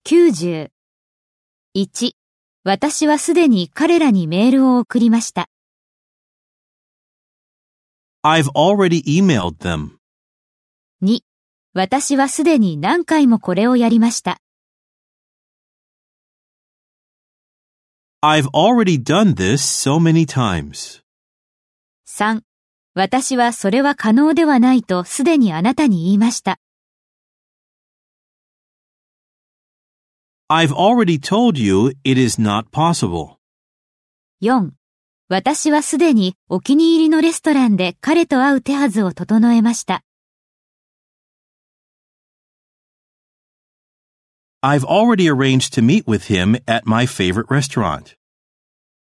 90。1、私はすでに彼らにメールを送りました。 I've already emailed them. 2、私はすでに何回もこれをやりました。 I've already done this so many times. 3、私はそれは可能ではないとすでにあなたに言いました。 I've already told you it is not possible. 4、私はすでにお気に入りのレストランで彼と会う手はずを整えました。 I've already arranged to meet with him at my favorite restaurant.